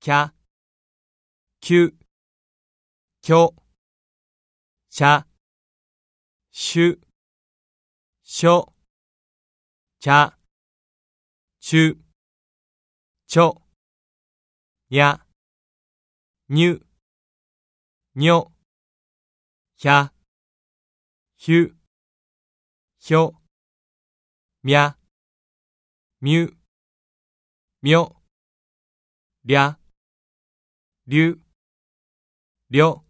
きゃ、きゅ、きょ、ちゃ、しゅ、しょ、ちゃ、ちゅ、ちょ、にゃ、にゅ、にょ、ひゃ、ひゅ、ひょ、みゃ、みゅ、みょ、りゃ、りゅ、りょ、